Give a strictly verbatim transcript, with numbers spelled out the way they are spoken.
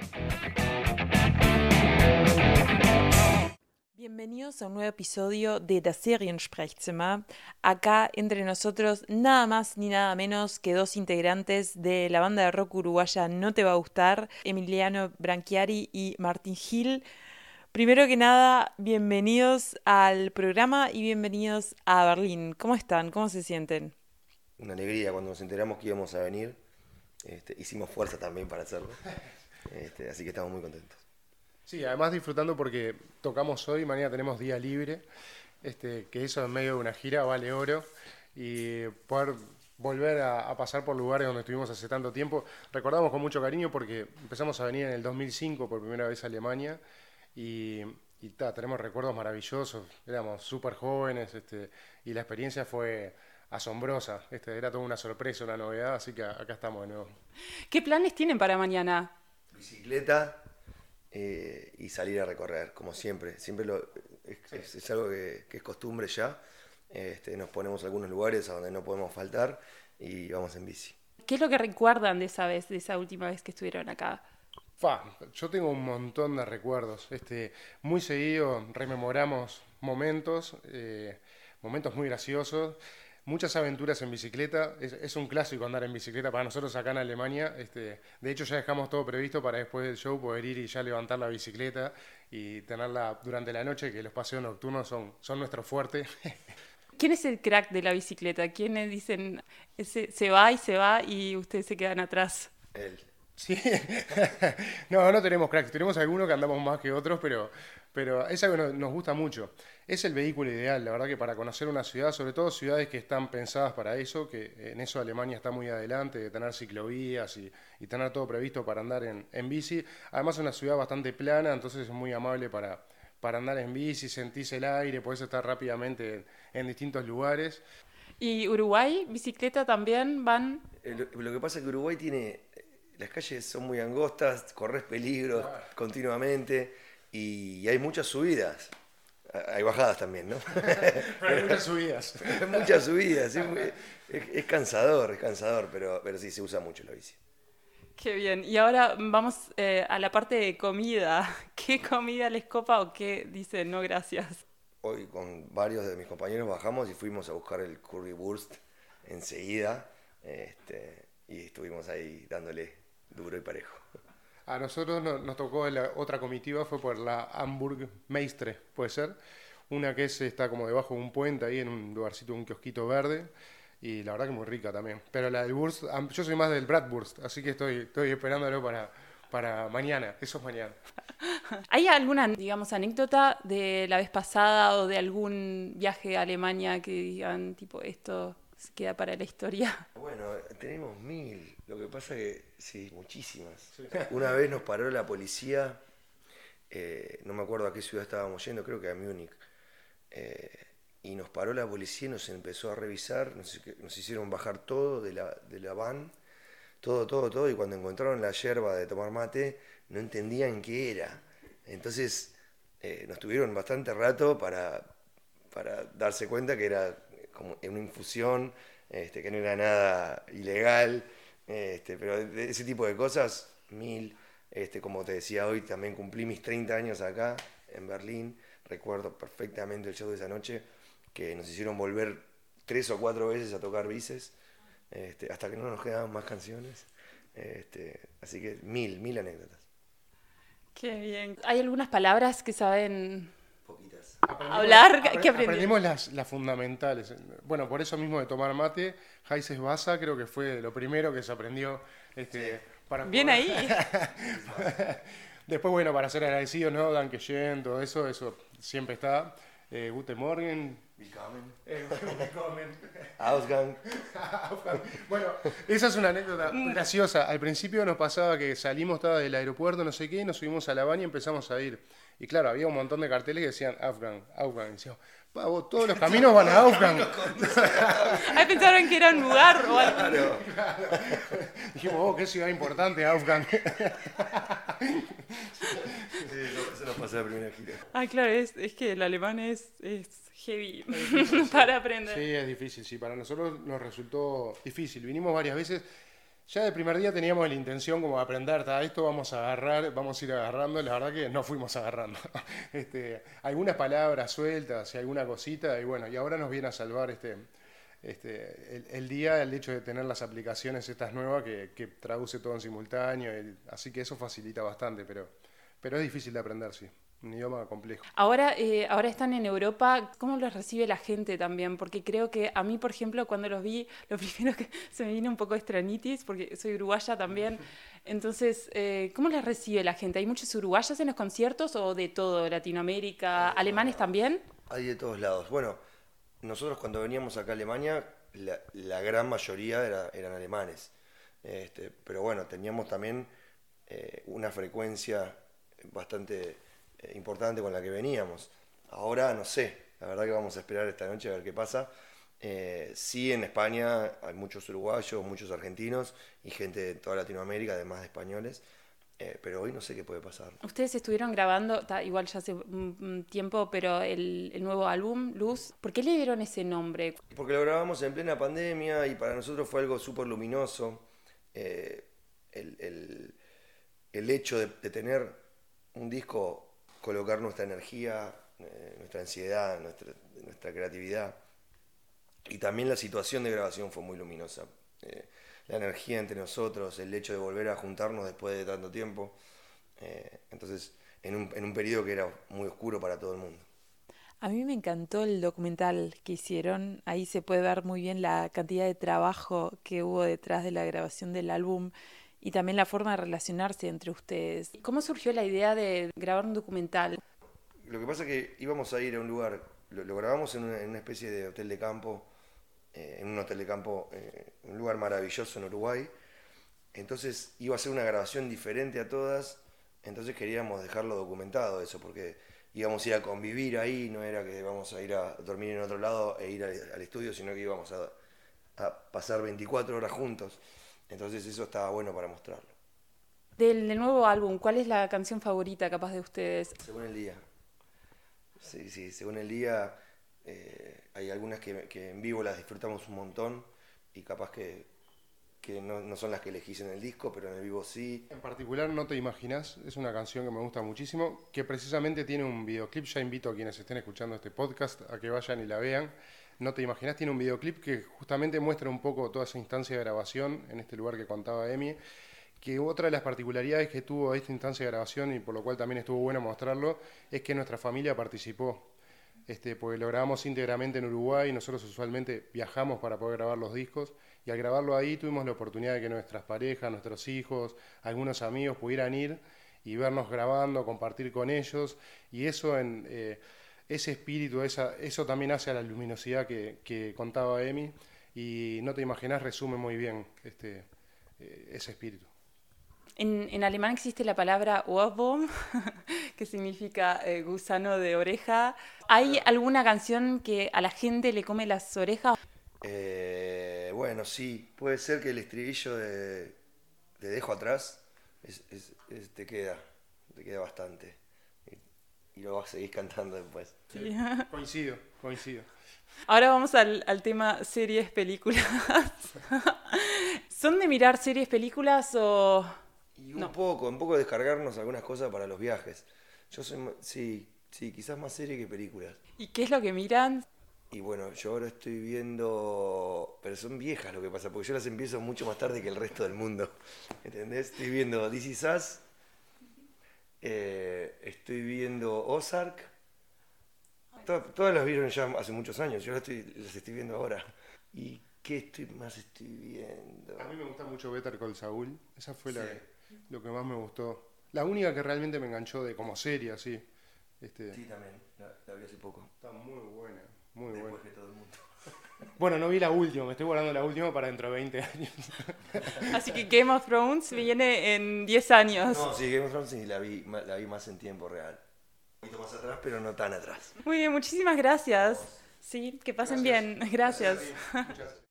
Bienvenidos a un nuevo episodio de Das Seriensprechzimmer. Acá entre nosotros nada más ni nada menos que dos integrantes de la banda de rock uruguaya No Te Va a Gustar, Emiliano Branchiari y Martín Gil. Primero que nada, bienvenidos al programa y bienvenidos a Berlín. ¿Cómo están? ¿Cómo se sienten? Una alegría cuando nos enteramos que íbamos a venir. Este, hicimos fuerza también para hacerlo. Este, así que estamos muy contentos. Sí, además disfrutando porque tocamos hoy, mañana tenemos día libre, este, que eso en medio de una gira vale oro, y poder volver a, a pasar por lugares donde estuvimos hace tanto tiempo. Recordamos con mucho cariño porque empezamos a venir en el dos mil cinco por primera vez a Alemania y, y ta, tenemos recuerdos maravillosos, éramos súper jóvenes, este, y la experiencia fue asombrosa, este, era toda una sorpresa, una novedad, así que acá estamos de nuevo. ¿Qué planes tienen para mañana? Bicicleta. Eh, y salir a recorrer, como siempre. Siempre lo, es, es, es algo que, que es costumbre ya. Este, nos ponemos algunos lugares a donde no podemos faltar y vamos en bici. ¿Qué es lo que recuerdan de esa vez, de esa última vez que estuvieron acá? Fa, yo tengo un montón de recuerdos. Este, muy seguido rememoramos momentos, eh, momentos muy graciosos. Muchas aventuras en bicicleta, es, es un clásico andar en bicicleta para nosotros acá en Alemania. Este, de hecho ya dejamos todo previsto para después del show poder ir y ya levantar la bicicleta y tenerla durante la noche, que los paseos nocturnos son, son nuestro fuerte. ¿Quién es el crack de la bicicleta? ¿Quiénes dicen ese, se va y se va y ustedes se quedan atrás? Él. Sí, no, no tenemos cracks, tenemos algunos que andamos más que otros, pero, pero es algo que nos gusta mucho. Es el vehículo ideal, la verdad que para conocer una ciudad, sobre todo ciudades que están pensadas para eso, que en eso Alemania está muy adelante, de tener ciclovías y, y tener todo previsto para andar en, en bici. Además es una ciudad bastante plana, entonces es muy amable para, para andar en bici, sentís el aire, podés estar rápidamente en, en distintos lugares. ¿Y Uruguay, bicicleta también van? Lo, lo que pasa es que Uruguay tiene... Las calles son muy angostas, corres peligros Claro. continuamente y hay muchas subidas. Hay bajadas también, ¿no? Pero hay muchas subidas. Hay muchas subidas, es, muy, es, es cansador, es cansador, pero, pero sí se usa mucho la bici. Qué bien. Y ahora vamos eh, a la parte de comida. ¿Qué comida les copa o qué dicen no gracias? Hoy con varios de mis compañeros bajamos y fuimos a buscar el currywurst enseguida este, y estuvimos ahí dándole duro y parejo. A nosotros no, nos tocó la otra comitiva, fue por la Hamburg Meistre, puede ser. Una que es, está como debajo de un puente ahí en un lugarcito, un kiosquito verde. Y la verdad que muy rica también. Pero la del Wurst, yo soy más del Bratwurst, así que estoy, estoy esperándolo para, para mañana. Eso es mañana. ¿Hay alguna, digamos, anécdota de la vez pasada o de algún viaje a Alemania que digan, tipo, esto se queda para la historia? Bueno, tenemos mil. Lo que pasa que, sí, muchísimas. Sí. Una vez nos paró la policía, eh, no me acuerdo a qué ciudad estábamos yendo, creo que a Múnich. Eh, y nos paró la policía y nos empezó a revisar, nos, nos hicieron bajar todo de la, de la van, todo, todo, todo, y cuando encontraron la yerba de tomar mate, no entendían qué era. Entonces eh, nos tuvieron bastante rato para, para darse cuenta que era como una infusión, este, que no era nada ilegal, este, pero de ese tipo de cosas, mil. Este, como te decía hoy, también cumplí mis treinta años acá en Berlín, recuerdo perfectamente el show de esa noche, que nos hicieron volver tres o cuatro veces a tocar bices, este, hasta que no nos quedaban más canciones, este, así que mil, mil anécdotas. Qué bien. ¿Hay algunas palabras que saben Poquitas. Aprendimos, hablar? Aprendimos, ¿Qué aprendimos? Aprendimos las, las fundamentales. Bueno, por eso mismo de tomar mate, Heises Basa creo que fue lo primero que se aprendió. Este, Sí. para Bien poder... ahí. Después, bueno, para ser agradecidos, ¿no? Danke schön, todo eso, eso siempre está. Eh, Guten Morgen. Willkommen. Eh, willkommen. Ausgang. Bueno, esa es una anécdota graciosa. Al principio nos pasaba que salimos estaba del aeropuerto, no sé qué, nos subimos a la van y empezamos a ir. Y claro, había un montón de carteles que decían Afgan, Afgan. Y decíamos, pavo, todos los caminos van a Afgan. Ahí pensaron que era un lugar o algo. Claro. Dijimos, oh, qué ciudad importante, Afgan. Sí, eso nos pasó la primera gira. Ah, claro, es, es que el alemán es, es heavy para aprender. Sí, es difícil, sí. Para nosotros nos resultó difícil. Vinimos varias veces. Ya del primer día teníamos la intención como de aprender, ta, esto vamos a agarrar, vamos a ir agarrando, la verdad que no fuimos agarrando. este, algunas palabras sueltas y alguna cosita, y bueno, y ahora nos viene a salvar este, este, el, el día el hecho de tener las aplicaciones estas nuevas que, que traduce todo en simultáneo, y, así que eso facilita bastante, pero, pero es difícil de aprender, sí. Un idioma complejo. Ahora, eh, ahora están en Europa, ¿cómo los recibe la gente también? Porque creo que a mí, por ejemplo, cuando los vi, lo primero que se me vino un poco estranitis, porque soy uruguaya también. Entonces, eh, ¿cómo los recibe la gente? ¿Hay muchos uruguayos en los conciertos o de todo, Latinoamérica? ¿Alemanes también? Hay de todos lados. Bueno, nosotros cuando veníamos acá a Alemania, la, la gran mayoría era, eran alemanes. Este, pero bueno, teníamos también eh, una frecuencia bastante importante con la que veníamos. Ahora no sé, la verdad que vamos a esperar esta noche a ver qué pasa. Eh, sí, en España hay muchos uruguayos, muchos argentinos y gente de toda Latinoamérica, además de españoles, eh, pero hoy no sé qué puede pasar. Ustedes estuvieron grabando, ta, igual ya hace un, un tiempo, pero el, el nuevo álbum, Luz, ¿por qué le dieron ese nombre? Porque lo grabamos en plena pandemia y para nosotros fue algo súper luminoso. Eh, el, el, el hecho de, de tener un disco, colocar nuestra energía, eh, nuestra ansiedad, nuestra, nuestra creatividad. Y también la situación de grabación fue muy luminosa. Eh, la energía entre nosotros, el hecho de volver a juntarnos después de tanto tiempo. Eh, entonces, en un, en un periodo que era muy oscuro para todo el mundo. A mí me encantó el documental que hicieron. Ahí se puede ver muy bien la cantidad de trabajo que hubo detrás de la grabación del álbum. Y también la forma de relacionarse entre ustedes. ¿Cómo surgió la idea de grabar un documental? Lo que pasa es que íbamos a ir a un lugar, lo, lo grabamos en una, en una especie de hotel de campo, eh, en un hotel de campo, eh, un lugar maravilloso en Uruguay. Entonces iba a ser una grabación diferente a todas, entonces queríamos dejarlo documentado eso, porque íbamos a ir a convivir ahí, no era que íbamos a ir a dormir en otro lado e ir al, al estudio, sino que íbamos a, a pasar veinticuatro horas juntos. Entonces eso estaba bueno para mostrarlo. Del, del nuevo álbum, ¿cuál es la canción favorita capaz de ustedes? Según el día. Sí, sí, según el día. Eh, hay algunas que, que en vivo las disfrutamos un montón y capaz que, que no, no son las que elegís en el disco, pero en el vivo sí. En particular, No te imaginas, es una canción que me gusta muchísimo, que precisamente tiene un videoclip. Ya invito a quienes estén escuchando este podcast a que vayan y la vean. No te imaginas, tiene un videoclip que justamente muestra un poco toda esa instancia de grabación en este lugar que contaba Emi, que otra de las particularidades que tuvo esta instancia de grabación, y por lo cual también estuvo bueno mostrarlo, es que nuestra familia participó, este, porque lo grabamos íntegramente en Uruguay, nosotros usualmente viajamos para poder grabar los discos, y al grabarlo ahí tuvimos la oportunidad de que nuestras parejas, nuestros hijos, algunos amigos pudieran ir y vernos grabando, compartir con ellos, y eso en... Eh, ese espíritu, esa, eso también hace a la luminosidad que, que contaba Emi, y No te imaginas resume muy bien este, eh, ese espíritu. En, en alemán existe la palabra Ohrwurm, que significa eh, gusano de oreja. ¿Hay alguna canción que a la gente le come las orejas? Eh, bueno, sí, puede ser que el estribillo de Te dejo atrás es, es, es, te queda, te queda bastante. Y lo vas a seguir cantando después. Sí. Coincido, coincido. Ahora vamos al, al tema series, películas. ¿Son de mirar series, películas o...? Y un no. poco, un poco descargarnos algunas cosas para los viajes. Yo soy, sí, sí, quizás más serie que películas. ¿Y qué es lo que miran? Y bueno, yo ahora estoy viendo... Pero son viejas lo que pasa, porque yo las empiezo mucho más tarde que el resto del mundo. ¿Entendés? Estoy viendo This Is Us. Eh, estoy viendo Ozark. Todas, todas las vieron ya hace muchos años, yo las estoy, las estoy viendo ahora. ¿Y qué estoy más estoy viendo? A mí me gusta mucho Better Call Saul, esa fue sí. la, lo que más me gustó. La única que realmente me enganchó de como serie, así. Este, sí, también, la, la vi hace poco. Está muy buena, muy Después buena. que todo el mundo. Bueno, no vi la última, me estoy guardando la última para dentro de veinte años. Así que Game of Thrones viene en diez años. No, sí, Game of Thrones sí, la vi, la vi más en tiempo real. Un poquito más atrás, pero no tan atrás. Muy bien, muchísimas gracias. Sí, que pasen Gracias. bien. Gracias. Gracias. Muchas gracias.